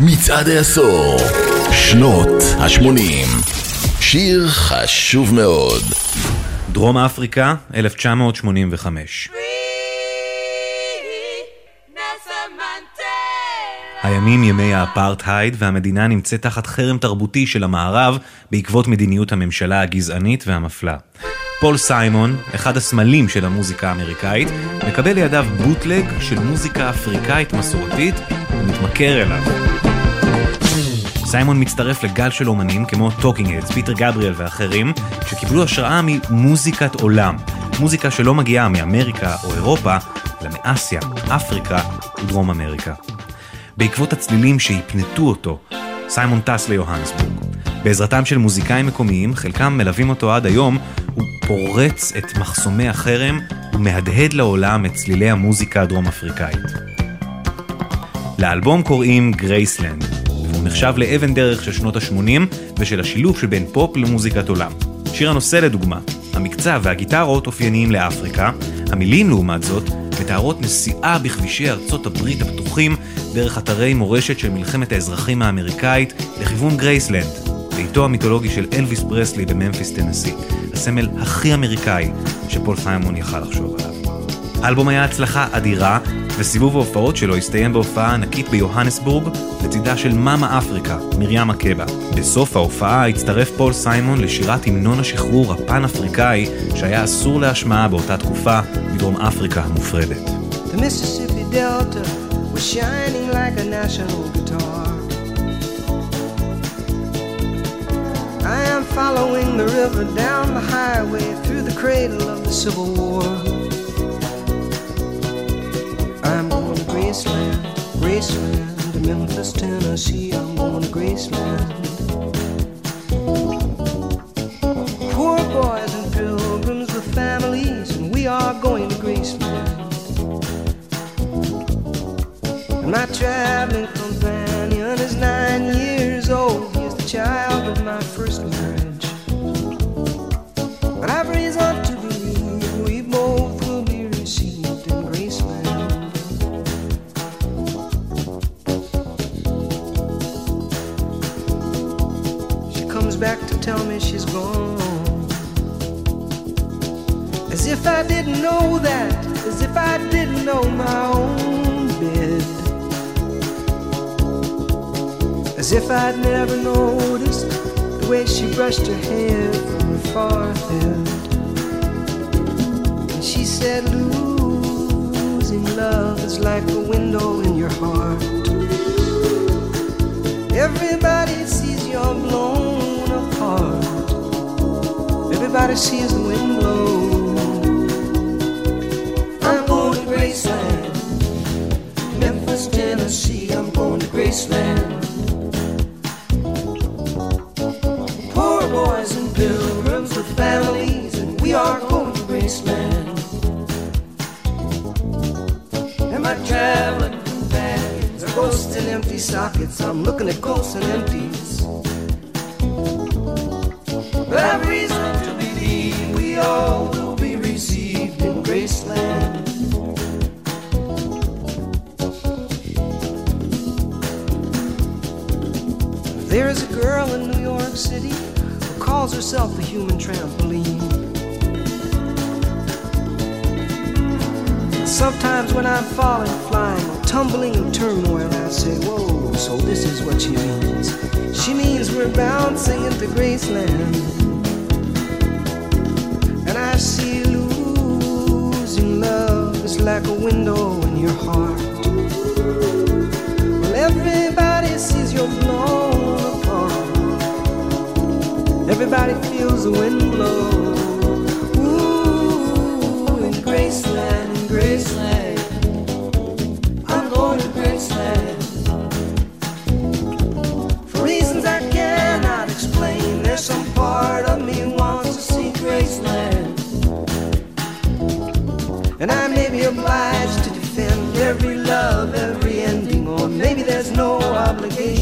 מצעד העשור, שנות ה-80. שיר חשוב מאוד. דרום אפריקה, 1985. הימים ימי האפרטהייד, והמדינה נמצאת תחת חרם תרבותי של המערב בעקבות מדיניות הממשלה הגזענית והמפלה. פול סיימון, אחד הסמלים של המוזיקה האמריקאית, מקבל לידיו בוטלג של מוזיקה אפריקאית מסורתית ומתמכר אליו. סיימון מצטרף לגל של אומנים כמו טוקינג הדס, פיטר גבריאל ואחרים, שקיבלו השראה ממוזיקת עולם, מוזיקה שלא מגיעה מאמריקה או אירופה, אלא מאסיה, אפריקה ודרום אמריקה. בעקבות הצלילים שהפנטו אותו, סיימון טס ליוהנסבורג. בעזרתם של מוזיקאים מקומיים, חלקם מלווים אותו עד היום, הוא פורץ את מחסומי החרם ומהדהד לעולם את צלילי המוזיקה הדרום אפריקאית. לאלבום קוראים גרייסלנד, והוא נחשב לאבן דרך של שנות ה-80 ושל השילוב שבין פופ למוזיקת עולם. שיר הנושא לדוגמה, המקצב והגיטרות אופייניים לאפריקה, המילים לעומת זאת מתארות נסיעה בכבישי ארצות הברית הפתוחים דרך אתרי מורשת של מלחמת האזרחים האמריקאית לכיוון גרייסלנד, ביתו המיתולוגי של אלוויס פרסלי בממפיס טנסי, הסמל הכי אמריקאי שפול סיימון יכל לחשוב עליו. האלבום היה הצלחה אדירה, וסיבוב ההופעות שלו הסתיים בהופעה ענקית ביוהנסבורג לצידה של מאמה אפריקה, מרים מקבה. בסוף ההופעה הצטרף פול סיימון לשירת המנון השחרור הפן-אפריקאי שהיה אסור להשמעה באותה תקופה בדרום אפריקה המופרדת. The Mississippi Delta was shining like a national guitar. I am following the river down the highway through the cradle of the Civil War. I'm going to Graceland, Graceland, to Memphis, Tennessee. I'm going to Graceland. Poor boys and pilgrims with families, and we are going to Graceland. And my traveling companion is 9 years old. He is the child of my first marriage. But I've reason to believe we both will be received in Graceland. She comes back to tell me she's gone, as if I didn't know that, as if I didn't know my own bed, as if I'd never noticed the way she brushed her hair from her forehead. And she said, losing love is like a window in your heart. Everybody sees you're blown apart. Everybody sees the wind blow. I'm going to Graceland, Memphis, Tennessee. I'm going to Graceland. Poor boys and pilgrims with families, and we are going to Graceland. And my traveling companions are ghosts and empty sockets. I'm looking at ghosts and empties. But I've reason to believe we all will be received in Graceland. There is a girl in New York City who calls herself the human trampoline. Sometimes when I'm falling, flying, or tumbling in turmoil, I say, whoa, so this is what she means. She means we're bouncing into Graceland. And I see losing love is like a window in your heart. Well, everybody sees you're blown apart. Everybody feels the wind blow. Ooh, in Graceland, in Graceland. I'm going to Graceland. For reasons I cannot explain, there's some part of me wants to see Graceland. And I may be obliged to defend every love, every ending, or maybe there's no obligation.